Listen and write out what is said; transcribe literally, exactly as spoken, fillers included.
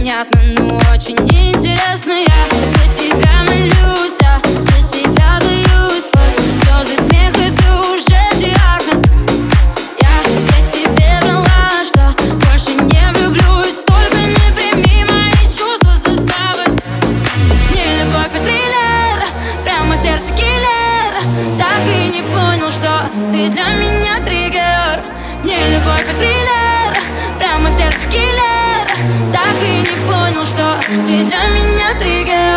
непонятно, но очень интересно. Я за тебя молюсь, а за себя боюсь. Сквозь слезы, смех, это уже диагноз. Я ведь тебе врала, что больше не влюблюсь. Только не прими мои чувства заставы. Не любовь, а триллер, прямо в сердце киллер. Так и не понял, что ты для меня триггер. Не любовь, а триллер, прямо в сердце киллер. Так и не понял, что ты для меня триггер.